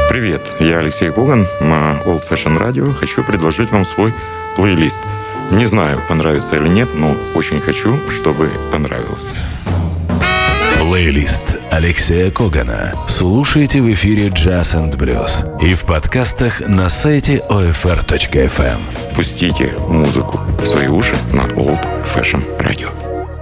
Привет, я Алексей Коган на Old Fashion Radio. Хочу предложить вам свой плейлист. Не знаю, понравится или нет, но очень хочу, чтобы понравился. Плейлист Алексея Когана слушайте в эфире Jazz and Blues и в подкастах на сайте OFR.FM. Пустите музыку в свої уші на Old Fashion Radio.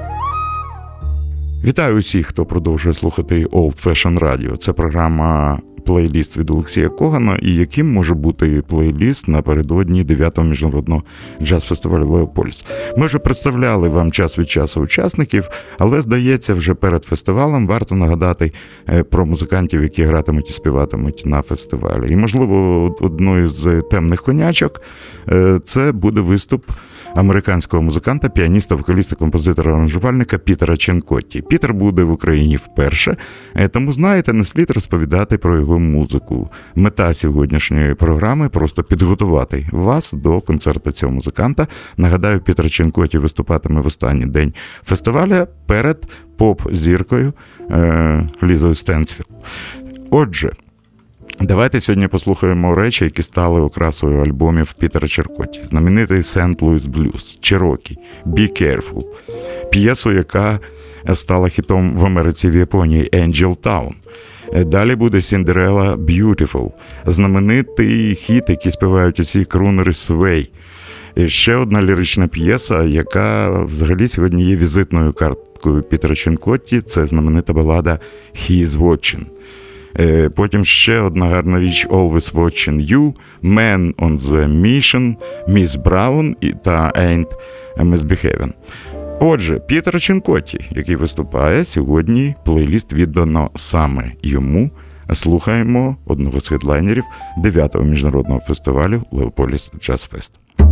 Вітаю усіх, хто продовжує слухати Old Fashion Radio. Це програма плейліст від Олексія Когана, і яким може бути плейліст напередодні 9-го міжнародного джаз-фестивалю «Леополіс». Ми вже представляли вам час від часу учасників, але, здається, вже перед фестивалем варто нагадати про музикантів, які гратимуть і співатимуть на фестивалі. І, можливо, одною з темних конячок це буде виступ американського музиканта, піаніста, вокаліста, композитора, аранжувальника Пітера Ченкотті. Пітер буде в Україні вперше, тому, знаєте, не слід розповідати про його музику. Мета сьогоднішньої програми – просто підготувати вас до концерту цього музиканта. Нагадаю, Пітер Ченкотті виступатиме в останній день фестиваля перед поп-зіркою Лізою Стенсфілд. Отже, давайте сьогодні послухаємо речі, які стали окрасою альбомів Пітера Ченкотті. Знаменитий «Сент Луїс Блюз», «Чирокі», «Be Careful», п'єсу, яка стала хітом в Америці, в Японії, «Angel Town». Далі буде «Cinderella Beautiful», знаменитий хіт, який співають усі крунери Свей. Ще одна лірична п'єса, яка взагалі сьогодні є візитною карткою Пітера Ченкотті, це знаменита балада «He is Watching». Потім ще одна гарна річ «Always Watching You», «Man on the Mission», «Miss Brown» та «Ain't Misbehaving». Отже, Пітер Ченкотті, який виступає сьогодні, плейліст віддано саме йому. Слухаємо одного з хедлайнерів 9-го міжнародного фестивалю «Леополіс Джаз Фест».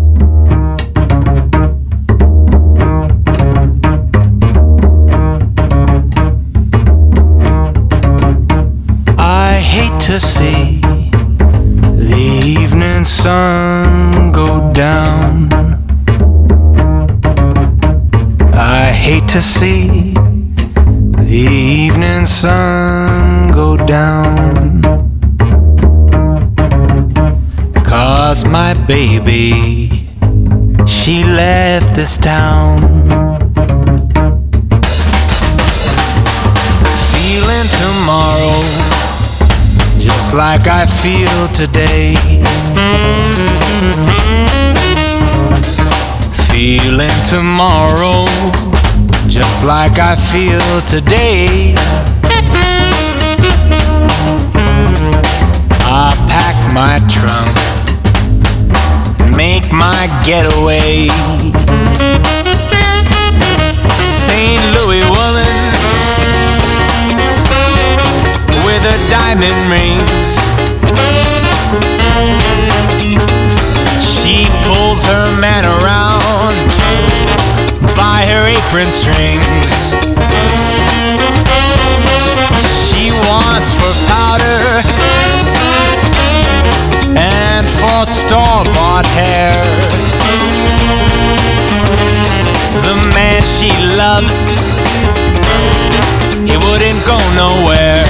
I hate to see the evening sun go down. I hate to see the evening sun go down, 'cause my baby, she left this town. Feeling tomorrow just like I feel today. Feeling tomorrow just like I feel today. I'll pack my trunk and make my getaway. St. Louis woman with her diamond rings, she pulls her man around by her apron strings. She wants for powder and for store-bought hair. The man she loves, he wouldn't go nowhere.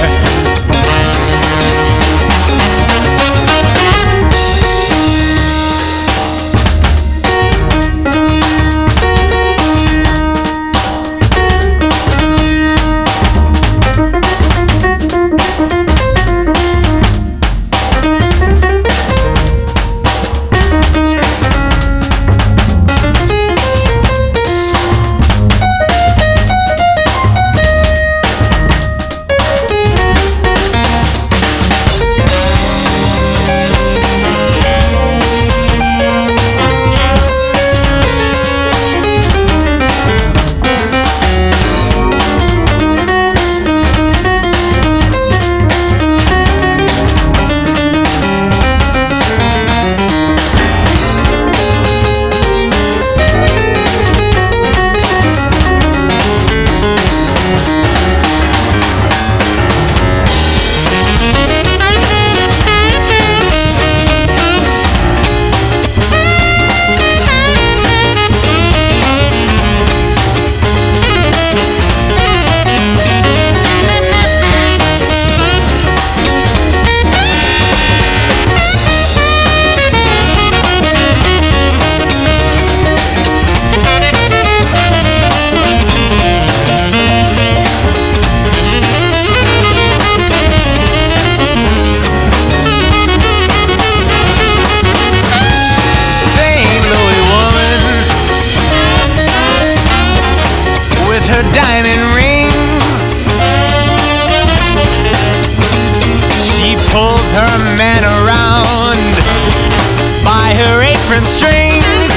pulls her man around by her apron strings.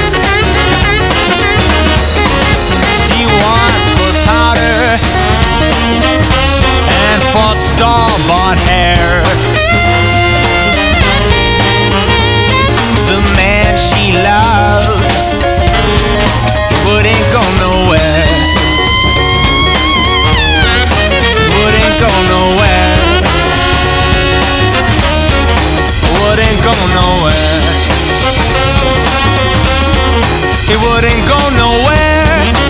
She wants for powder and for store-bought hair. The man she loves wouldn't go nowhere. Wouldn't go nowhere. Wouldn't go nowhere. He wouldn't go nowhere.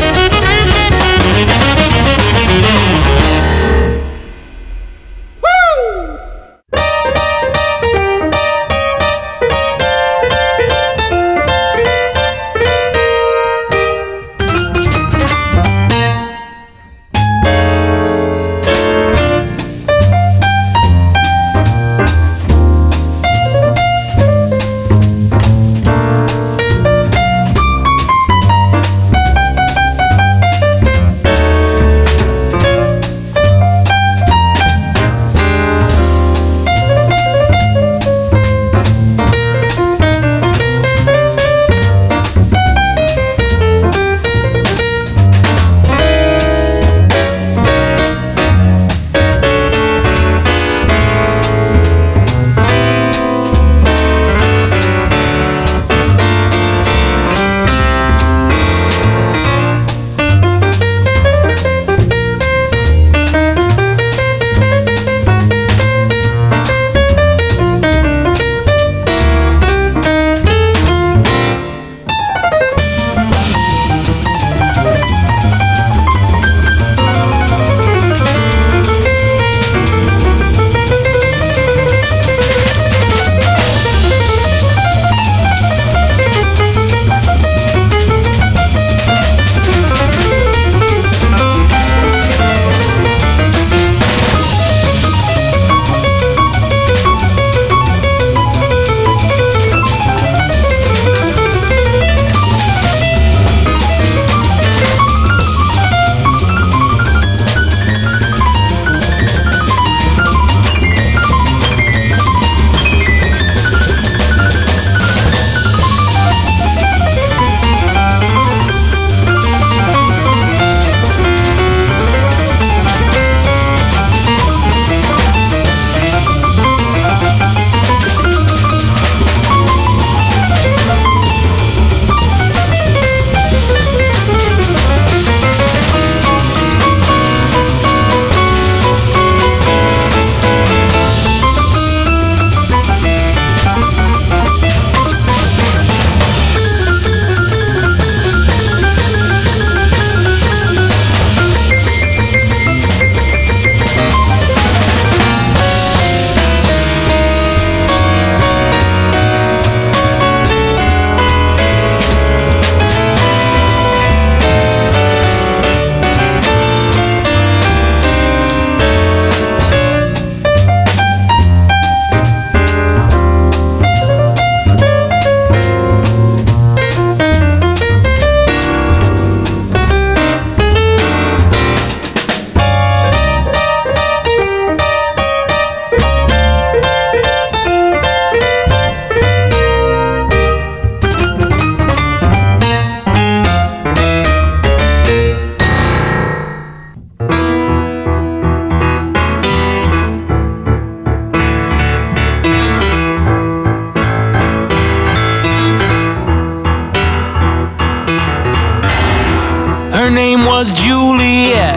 Her name was Juliet,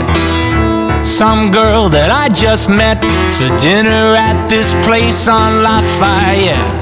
some girl that I just met for dinner at this place on Lafayette.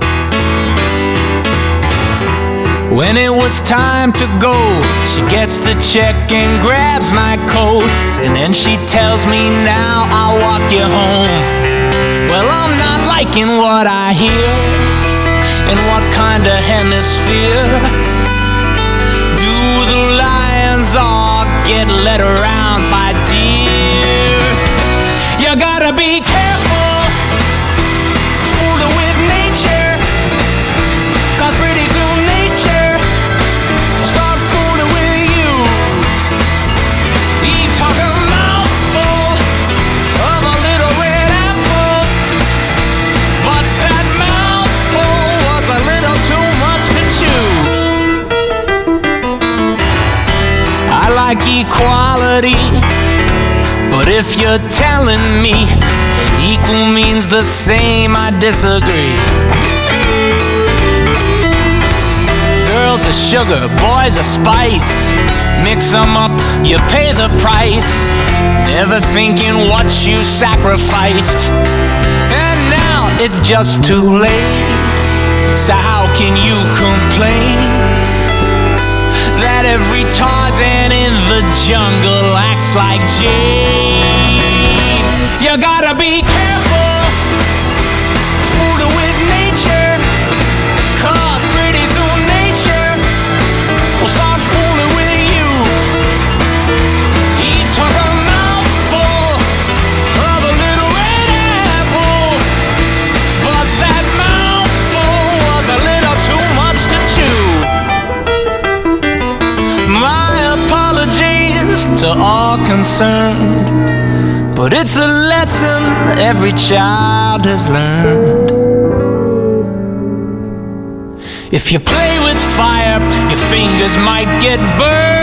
When it was time to go, she gets the check and grabs my coat, and then she tells me, now I'll walk you home. Well, I'm not liking what I hear. In what kind of hemisphere do the lions all get led around by deer? You gotta be careful, fooling with nature, 'cause pretty soon nature starts fooling with you. You talk a mouthful of a little red apple, equality. But if you're telling me that equal means the same, I disagree. Girls are sugar, boys are spice. Mix them up, you pay the price. Never thinking what you sacrificed. And now it's just too late. So how can you complain that every Tarzan in the jungle acts like Jane? You gotta be careful, fooling with nature, 'cause pretty soon nature will start fooling with you. He took a mouthful of a little red apple, but that mouthful was a little too much to chew. My apologies to all concerned, but it's a lesson every child has learned. If you play with fire, your fingers might get burned.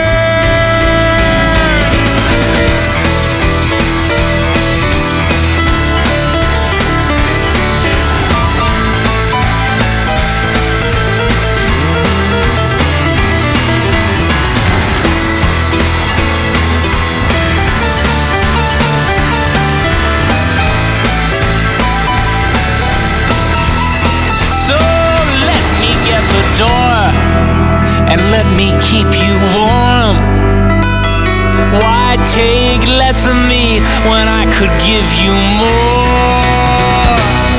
Door and let me keep you warm. Why take less of me when I could give you more?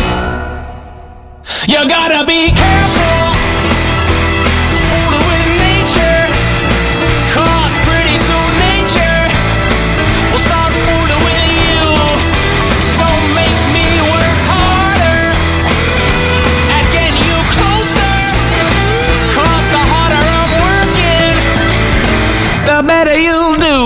You gotta be careful, fooling with nature, 'cause pretty soon nature will start fooling with you. So make me work harder at getting you closer, the harder I'm working, the better you'll do.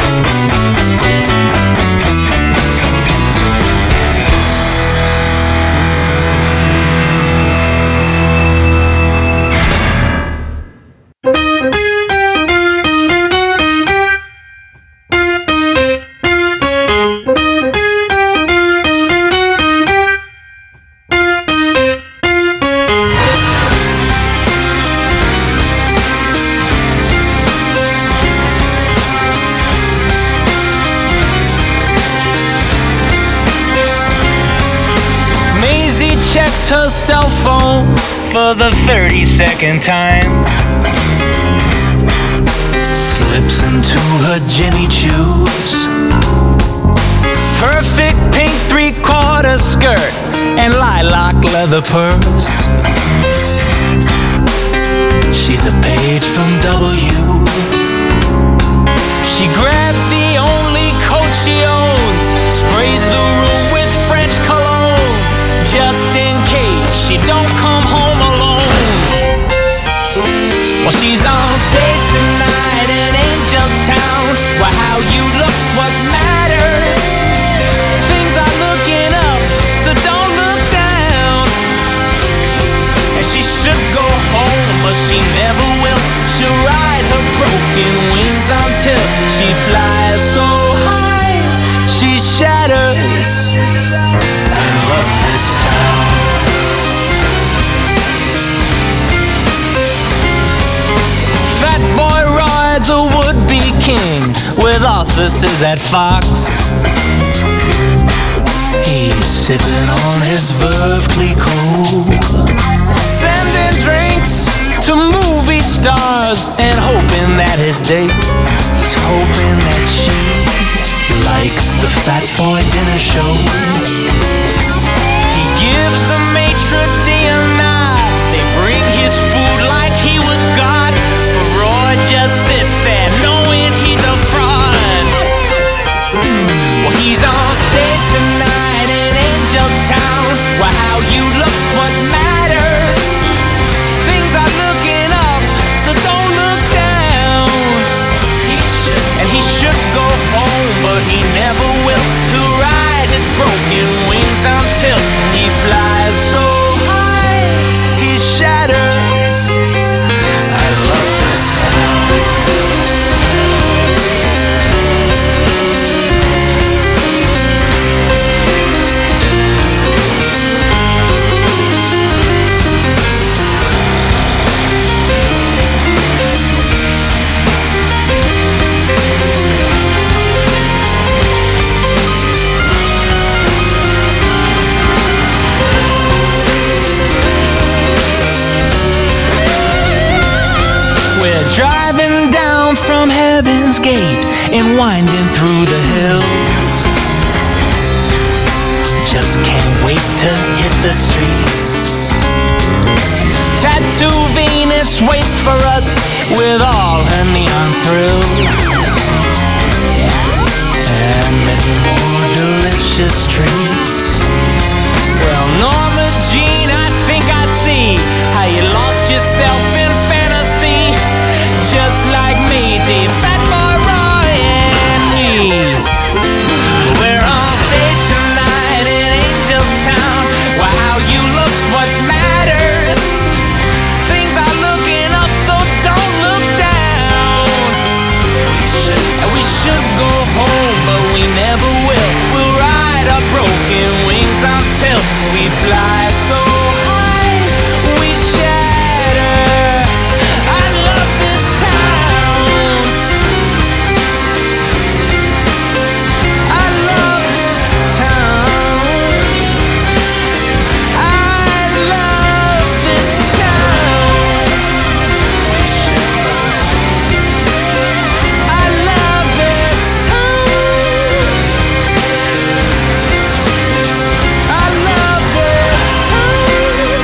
Checks her cell phone for the 32nd time. Slips into her Jimmy Choos. Perfect pink 3/4 skirt and lilac leather purse. She's a page from W. She grabs the only coat she owns, sprays the room with French cologne, just in case she don't come home alone. Well, she's on stage tonight in Angel Town, where how you look's what matters. Things are looking up, so don't look down. And she should go home, but she never will. She'll ride her broken wings until she flies so high she shatters and love this town. Fat Boy Roy's a would-be king with offices at Fox. He's sipping on his Veuve Clicquot, sending drinks to movie stars and hoping that his date, he's hoping that she likes the Fat Boy dinner show. He gives the maitre d' a nod. They bring his food like he was God, but Roy just sits there knowing he's a fraud. Well, he's on stage tonight in Angel Town, where how you look's what matters. Things are looking up, so don't look down. He should go home, but he never will. He'll ride his broken wings gate and winding through the hills. Just can't wait to hit the streets. Tattoo Venus waits for us with all her neon thrills and many more delicious treats. Well, Norma Jean, I think I see how you lost yourself in fantasy, just like Maisie, Fat Boy Roy, and me. We're on stage tonight in Angel Town. Well, how you look's what matters. Things are looking up, so don't look down. We should go home, but we never will. We'll ride our broken wings until we fly so high we shatter. I love this town. I love this town. I love this town. I love this town. I love this town.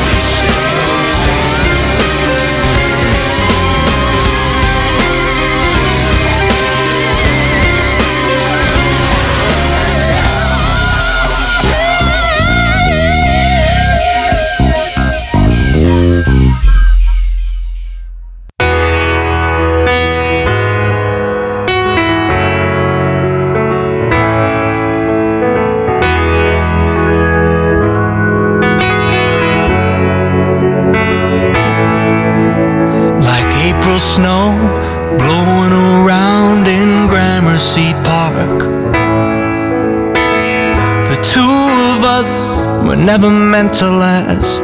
Like April snow blowing around in Gramercy Park. The two of us were never meant to last.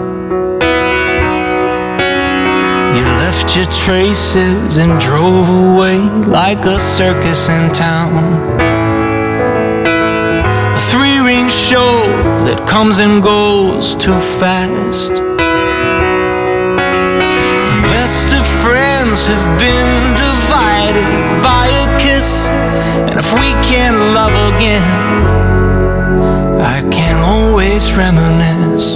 You left your traces and drove away like a circus in town. A three-ring show that comes and goes too fast. Best of friends have been divided by a kiss, and if we can't love again, I can always reminisce.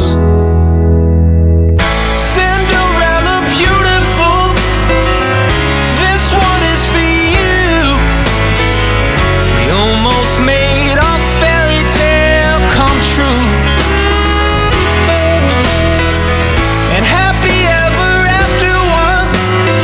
Cinderella beautiful, this one is for you. We almost made our fairy tale come true. And happy ever after was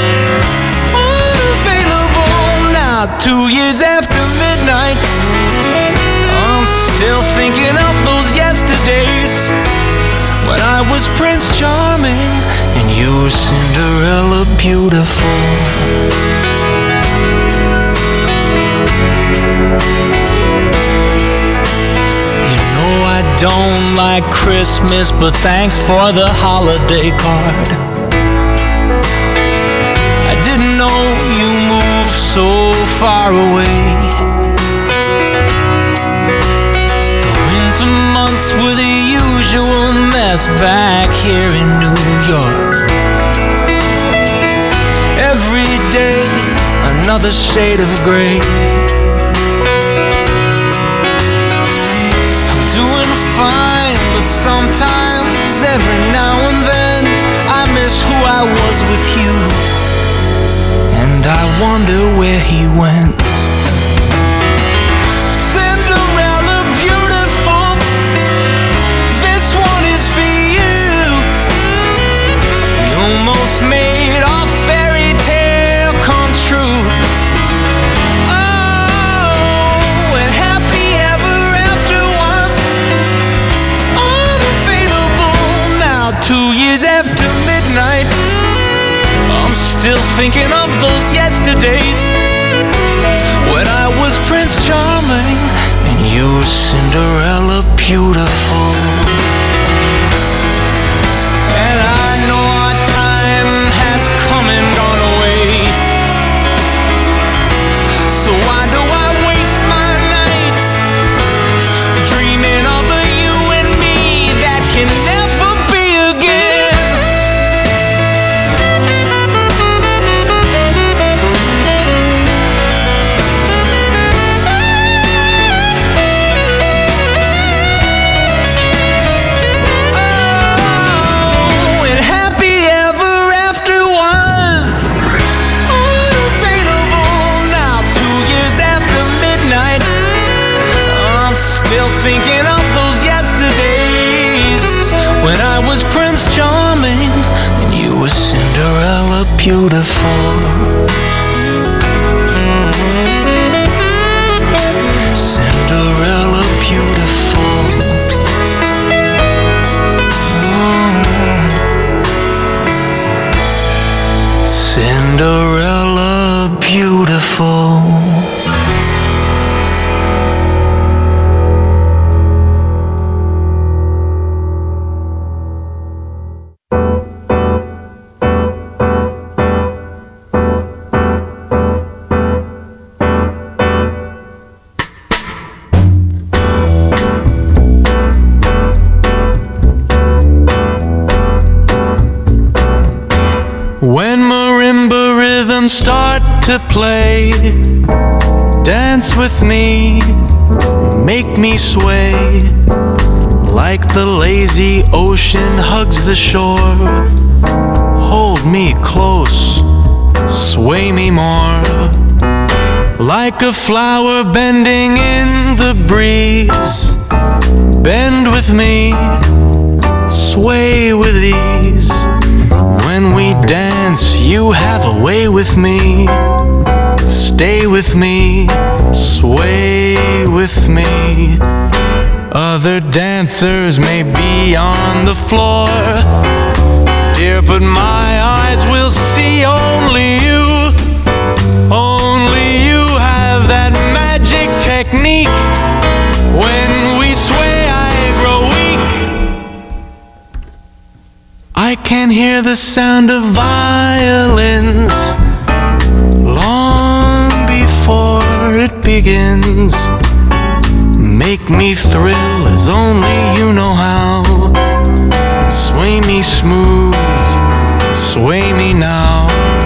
unavailable now. 2 years after midnight, I'm still thinking of those yesterdays when I was Prince Charming and you were Cinderella beautiful. You know I don't like Christmas, but thanks for the holiday card. I didn't know you moved so far away. The winter months were the usual mess back here in New York. Every day another shade of gray. I'm doing fine, but sometimes every now and then I miss who I was with you, and I wonder where he went. Cinderella beautiful, this one is for you. We almost made our fairy tale come true. Oh, and happy ever after was unavailable now. 2 years after midnight, I'm still thinking of those yesterdays when I was Prince Charming and you were Cinderella beautiful. And I know our time has come and gone away, so why do I waste my nights dreaming of a you and me that can never be again? beautiful. Cinderella beautiful. Cinderella beautiful. When marimba rhythms start to play, dance with me, make me sway, like the lazy ocean hugs the shore. Hold me close, sway me more, like a flower bending in the breeze. Bend with me, sway with ease. When we dance, you have a way with me. Stay with me, sway with me. Other dancers may be on the floor, dear, but my eyes will see only you. Only you have that magic technique. When we sway, I grow weak. I can hear the sound of violins long before it begins. Make me thrill as only you know how. Sway me smooth, sway me now.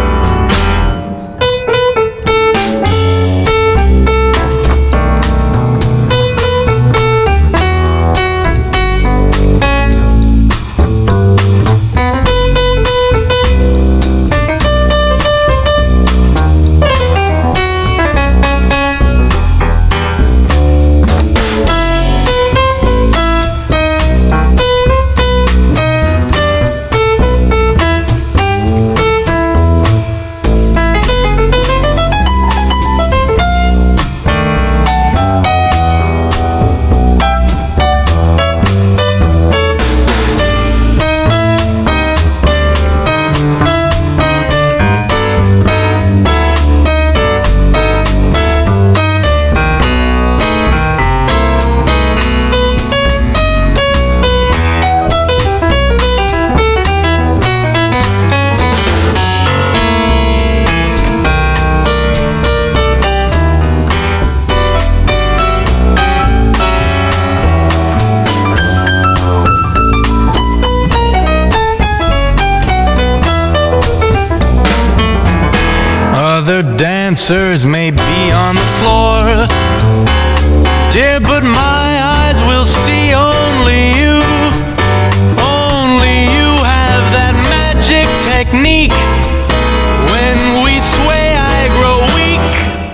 Dancers may be on the floor, dear, but my eyes will see only you. Only you have that magic technique. When we sway, I grow weak.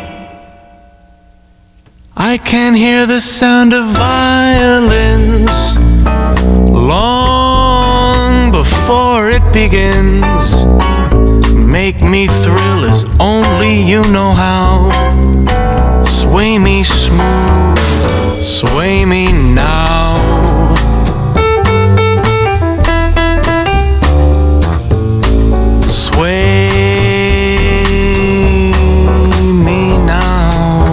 I can hear the sound of violins long before it begins. Make me thrill as only you know how. Sway me smooth, sway me now. Sway me now.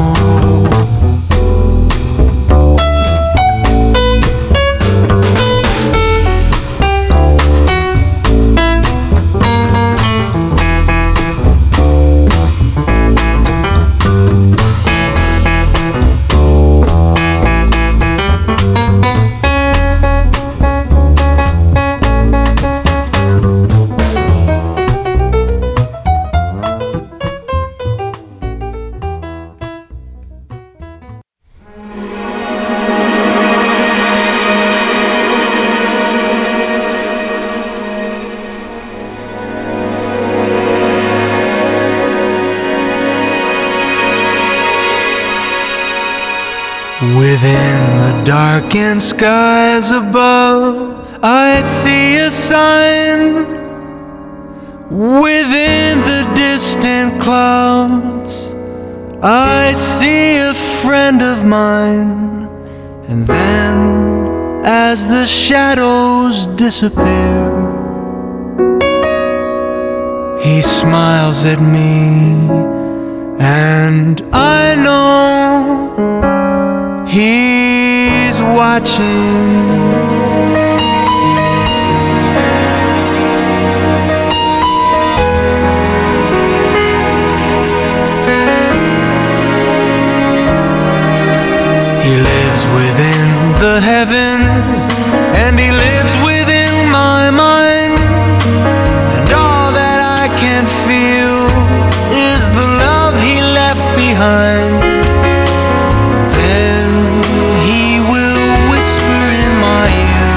Within the darkened skies above, I see a sign Within the distant clouds, I see a friend of mine, and then as the shadows disappear, he smiles at me, and I know he's watching. He lives within the heavens, and he lives within my mind, and all that I can feel is the love he left behind. Then he will whisper in my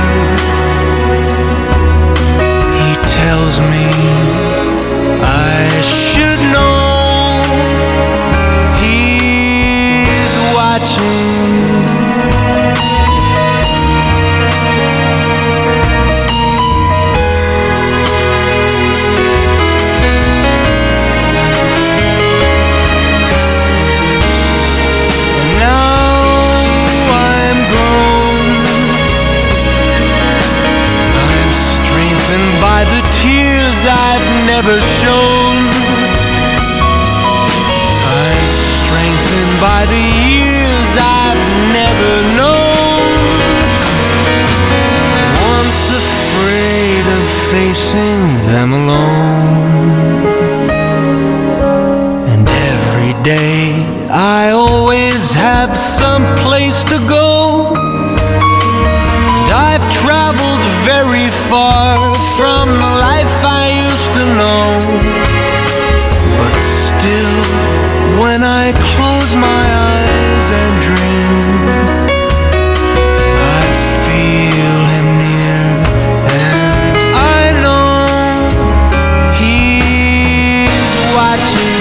ear. He tells me I should know he's watching. By the tears I've never shown, I'm strengthened by the years I've never known. Once afraid of facing them alone, and every day I always have some place to go. I've traveled very far from the life I used to know, but still, when I close my eyes and dream, I feel him near, and I know he's watching.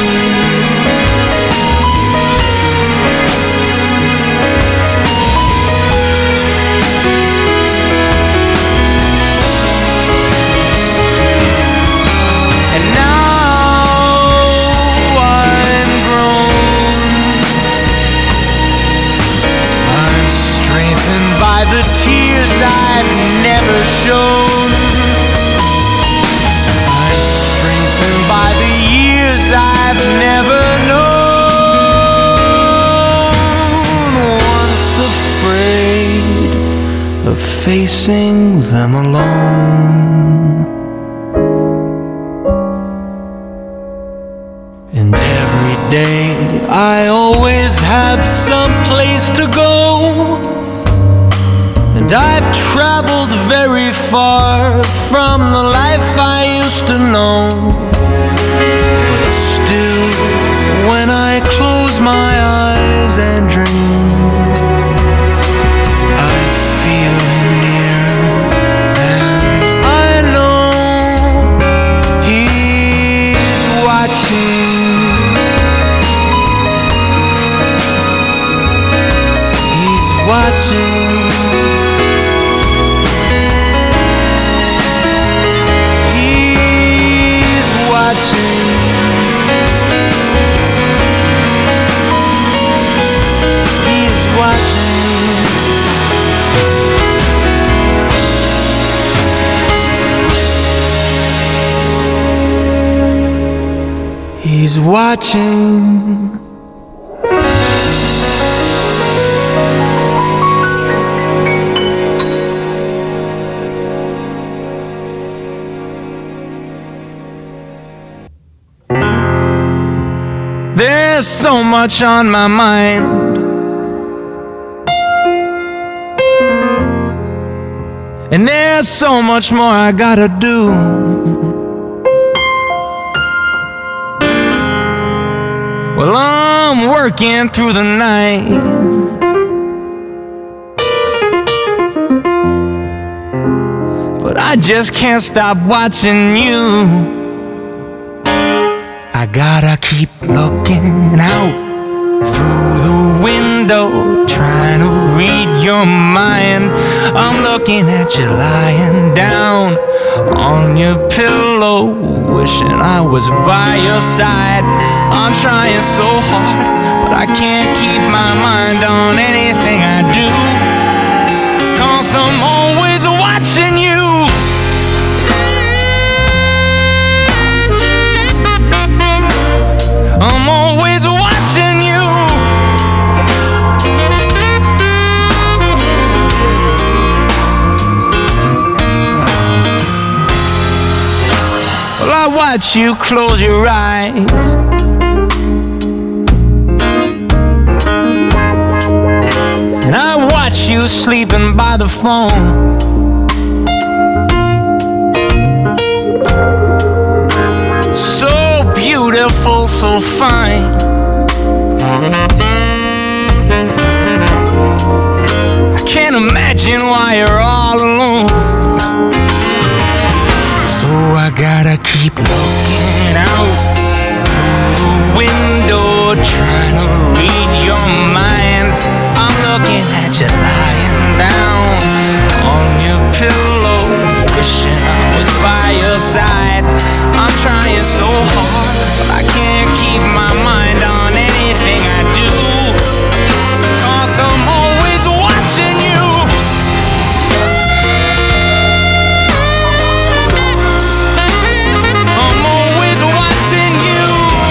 By the tears I've never shown, I'm strengthened by the years I've never known. Once afraid of facing them alone, and every day I always have some place to go. And I've traveled very far from the life I used to know, but still, when I close my eyes and dream, I feel him near, and I know he's watching. He's watching. He's watching. There's so much on my mind, and there's so much more I gotta do. Well, I'm working through the night, but I just can't stop watching you. I gotta keep looking out through the window, trying to read your mind. I'm looking at you lying down on your pillow, wishing I was by your side. I'm trying so hard, but I can't keep my mind on anything I do, 'cause I'm always watching you. I'm always watching you. Well, I watch you close your eyes, and I watch you sleeping by the phone. So beautiful, so fine. I can't imagine why you're all alone. So I gotta keep looking out through the window, trying to read your mind. I'm looking at you lying down on your pillow, wishing I was by your side. I'm trying so hard, but I can't keep my mind on anything I do, 'cause I'm always watching you. I'm always watching you.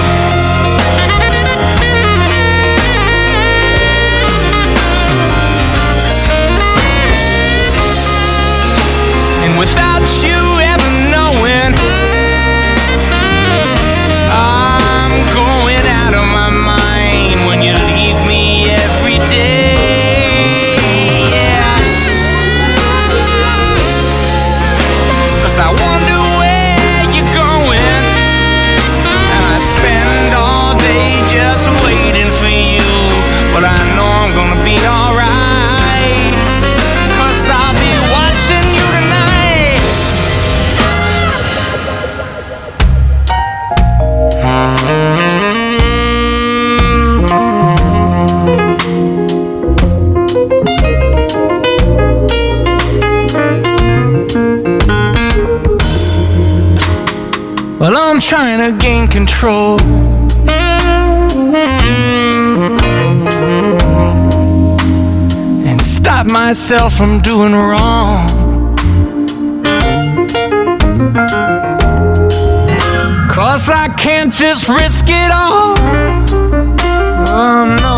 And without you ever knowing, I'm going out of my mind when you leave me every day. Yeah. 'Cause I wonder where you're going, and I spend all day just waiting for you. But I know I'm gonna be alright, 'cause I'll be watching you tonight. Well, I'm trying to gain control, and stop myself from doing wrong. 'Cause I can't just risk it all. Oh no,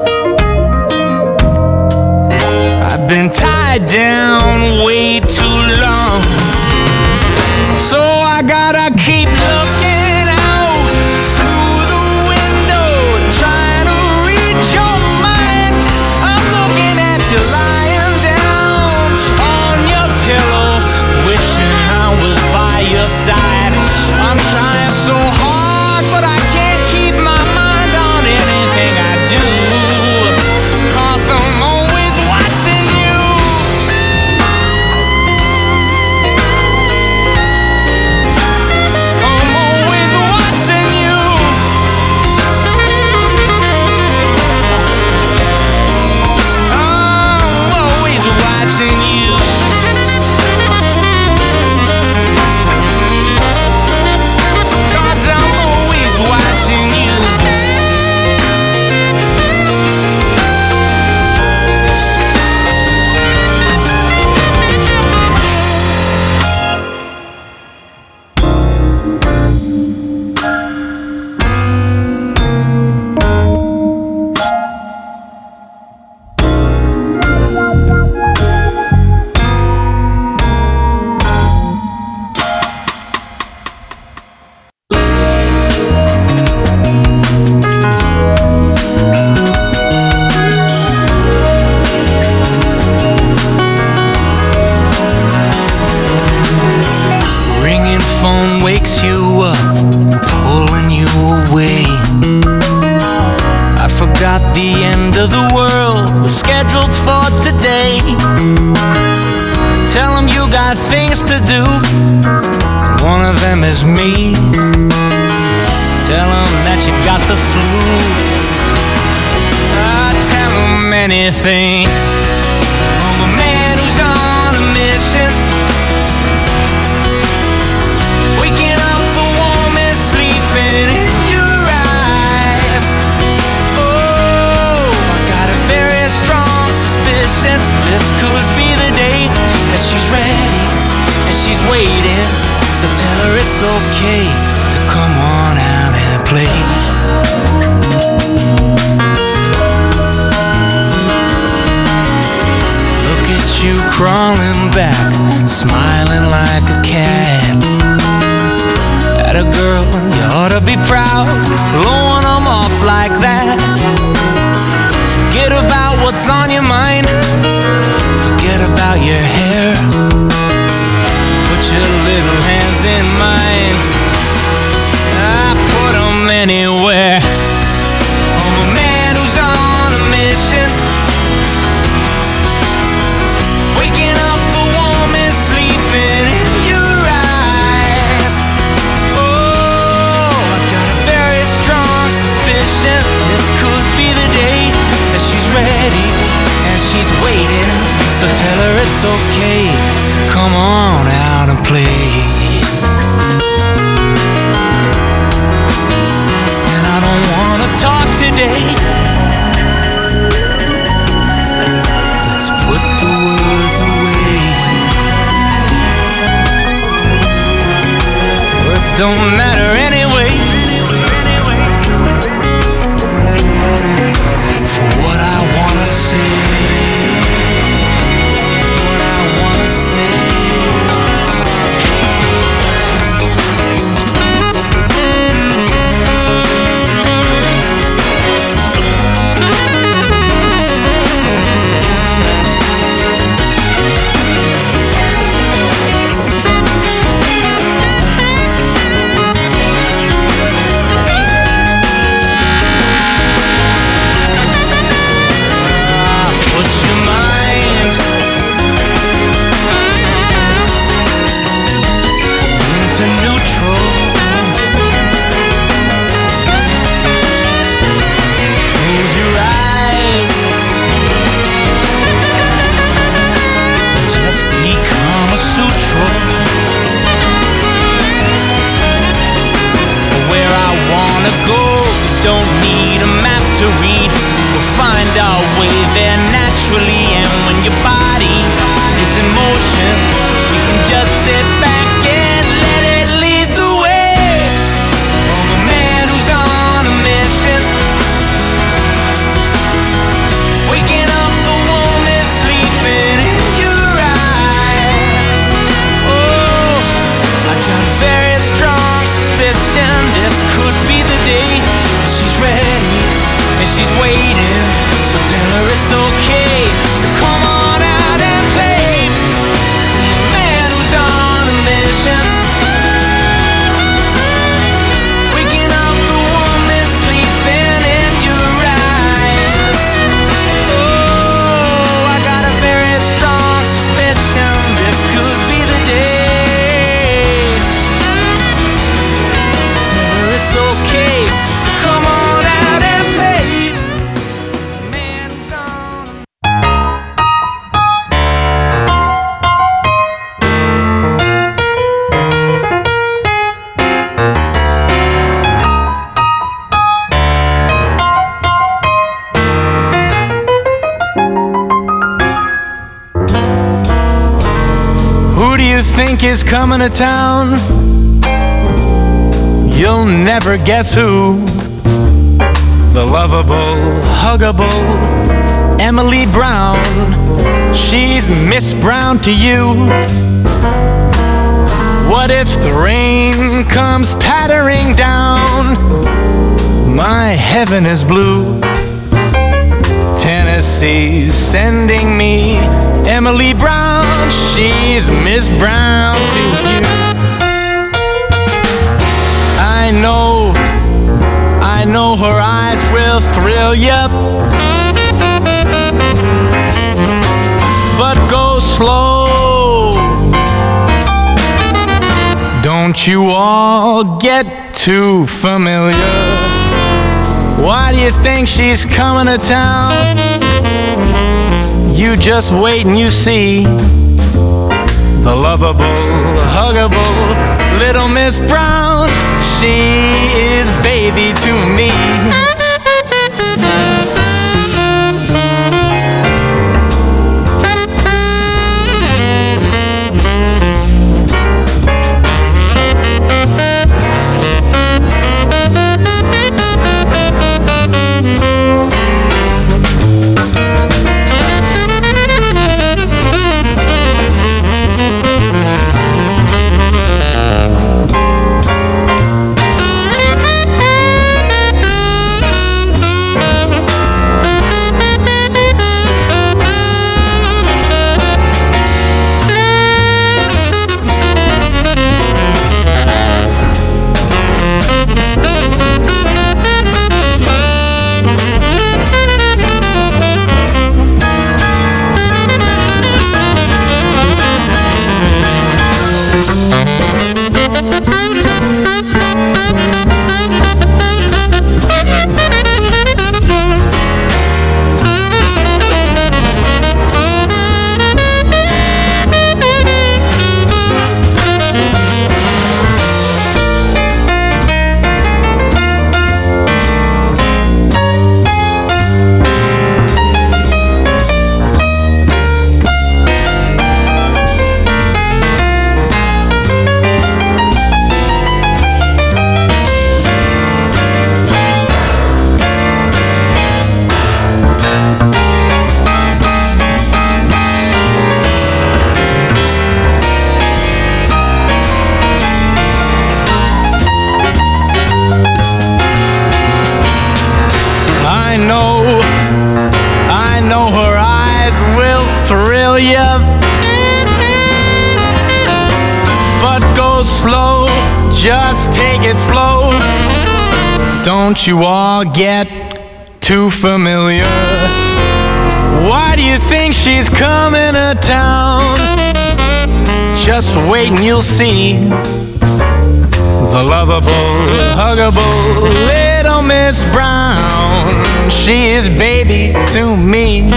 I've been tied down way too long. So I gotta keep looking out through the window, trying to read your mind. I'm looking at you lying down on your pillow, wishing I was by your side. I'm trying so hard, but I can't keep my mind on anything I do, 'cause I'm always watching you. I'm always watching you. I'm always watching you. 'Cause I'm always watching you. Ringing phone wakes you up, pulling you away. I forgot the end of the world was scheduled for today. Tell 'em you got things to do, and one of them is me. Tell 'em that you got the flu. Tell 'em anything. I'm a man who's on a mission. waiting, so tell her it's okay to come on out and play. Look at you crawling back, smiling like a cat. At a girl, you ought to be proud, blowing them off like that. Forget about what's on your mind, forget about your hair. Put your little hands in mine, I put them anywhere. I'm a man who's on a mission, waking up the warmest, sleeping in your eyes. Oh, I got a very strong suspicion this could be the day that she's ready and she's waiting, so tell her it's okay to come on out and play. And I don't wanna talk today, let's put the words away. Words don't matter anyway, for what I wanna say. Don't need a map to read, we'll find our way there naturally. And when your body is in motion, we can just sit back and let it lead the way. I'm a man who's on a mission, waking up the warmest, sleeping in your eyes. Oh, I got a very strong suspicion this could be the day she's ready and she's waiting, so tell her it's okay to come on out and play. Man who's on a mission, waking up the warmest, sleeping in your eyes. Oh, I got a very strong suspicion this could be the day, so tell her it's okay. Come on out and play. Man who's on. Who do you think is coming to town? You'll never guess who. The lovable, huggable Emily Brown. She's Miss Brown to you. What if the rain comes pattering down? My heaven is blue. Tennessee's sending me Emily Brown. She's Miss Brown to you. I know her eyes will thrill ya, but go slow. Don't you all get too familiar. Why do you think she's coming to town? You just wait and you see. The lovable, huggable little Miss Brown, she is baby to me. slow, just take it slow. Don't you all get too familiar. Why do you think she's coming to town? Just wait and you'll see the lovable, huggable little Miss Brown. She is baby to me.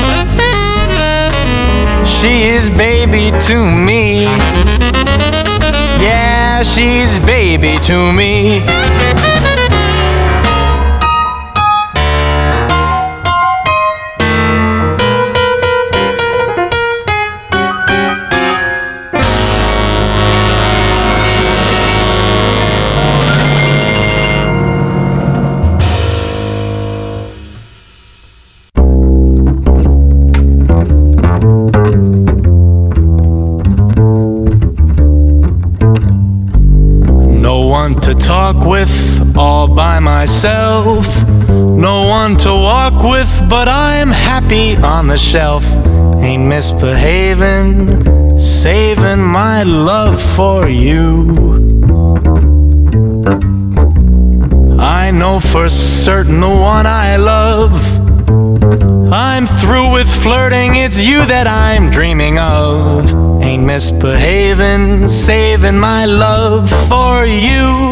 She is baby to me. Yeah, she's baby to me. To talk with all by myself, no one to walk with, but I'm happy on the shelf. Ain't misbehaving, saving my love for you. I know for certain the one I love. I'm through with flirting, it's you that I'm dreaming of. Ain't misbehaving, saving my love for you.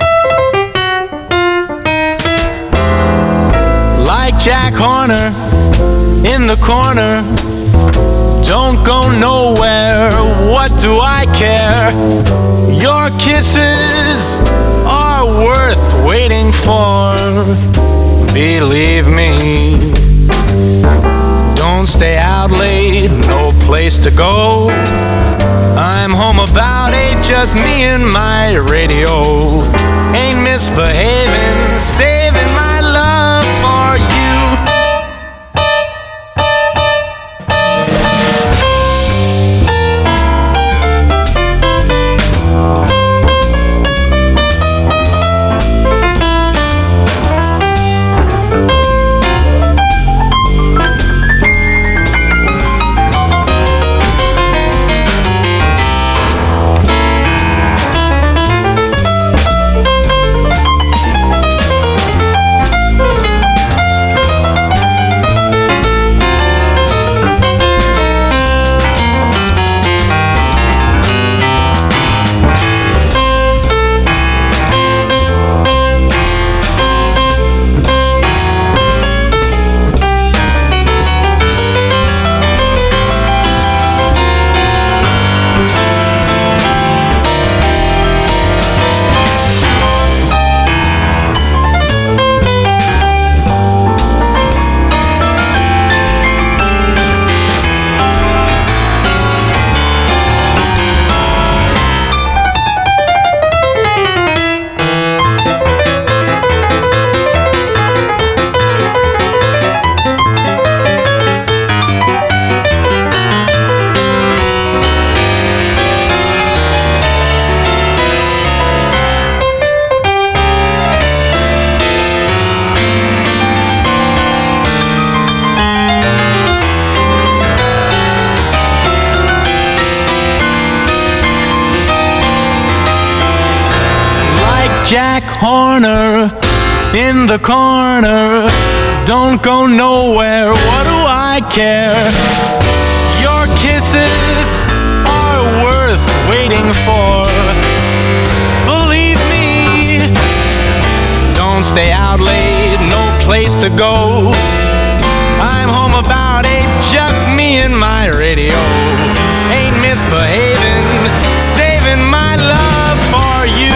Like Jack Horner in the corner, don't go nowhere, what do I care? Your kisses are worth waiting for, believe me. Don't stay out late, no place to go. I'm home about 8, just me and my radio. Ain't misbehaving, saving my love for you. Jack Horner in the corner, don't go nowhere, what do I care? Your kisses are worth waiting for, believe me. Don't stay out late, no place to go. I'm home about 8, just me and my radio. Ain't misbehaving, saving my love for you.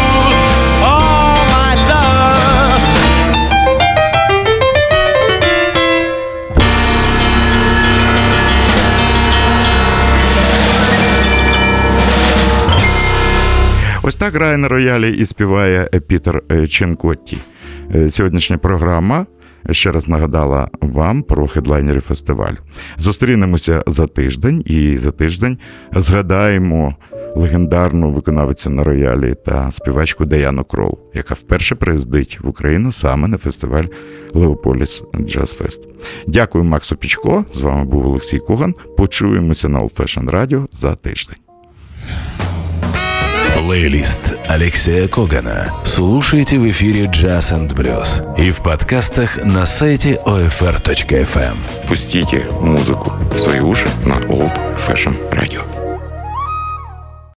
Ось так грає на роялі і співає Пітер Ченкотті. Сьогоднішня програма ще раз нагадала вам про хедлайнерів фестивалю. Зустрінемося за тиждень, і за тиждень згадаємо легендарну виконавицю на роялі та співачку Даяну Крол, яка вперше приїздить в Україну саме на фестиваль Леополіс Джаз Фест. Дякую Максу Пічко, з вами був Олексій Коган. Почуємося на Old Fashion Radio за тиждень. Плейлист Алексея Когана слушайте в эфире Jazz and Blues и в подкастах на сайте OFR.FM. Пустите музыку в свои уши на Old Fashion Radio.